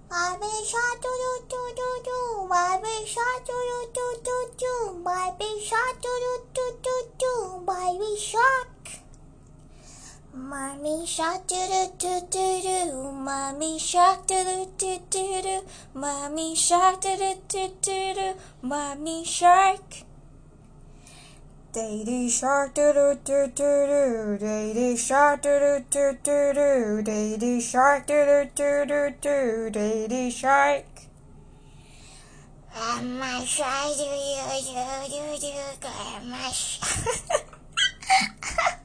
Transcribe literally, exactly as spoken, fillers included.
My big shark, do do do do do. My big shark, do do do do do. My big shark, do do do do do. My big shark. Mommy shark, do do do do do. Mommy shark, do do do do do. Mommy shark, do do do do do. Mommy shark. Daddy shark, do do do do do. Daddy shark, do do do do do. Daddy shark, do do do do do. Daddy shark. Grandma shark, do do do do do. Grandma shark.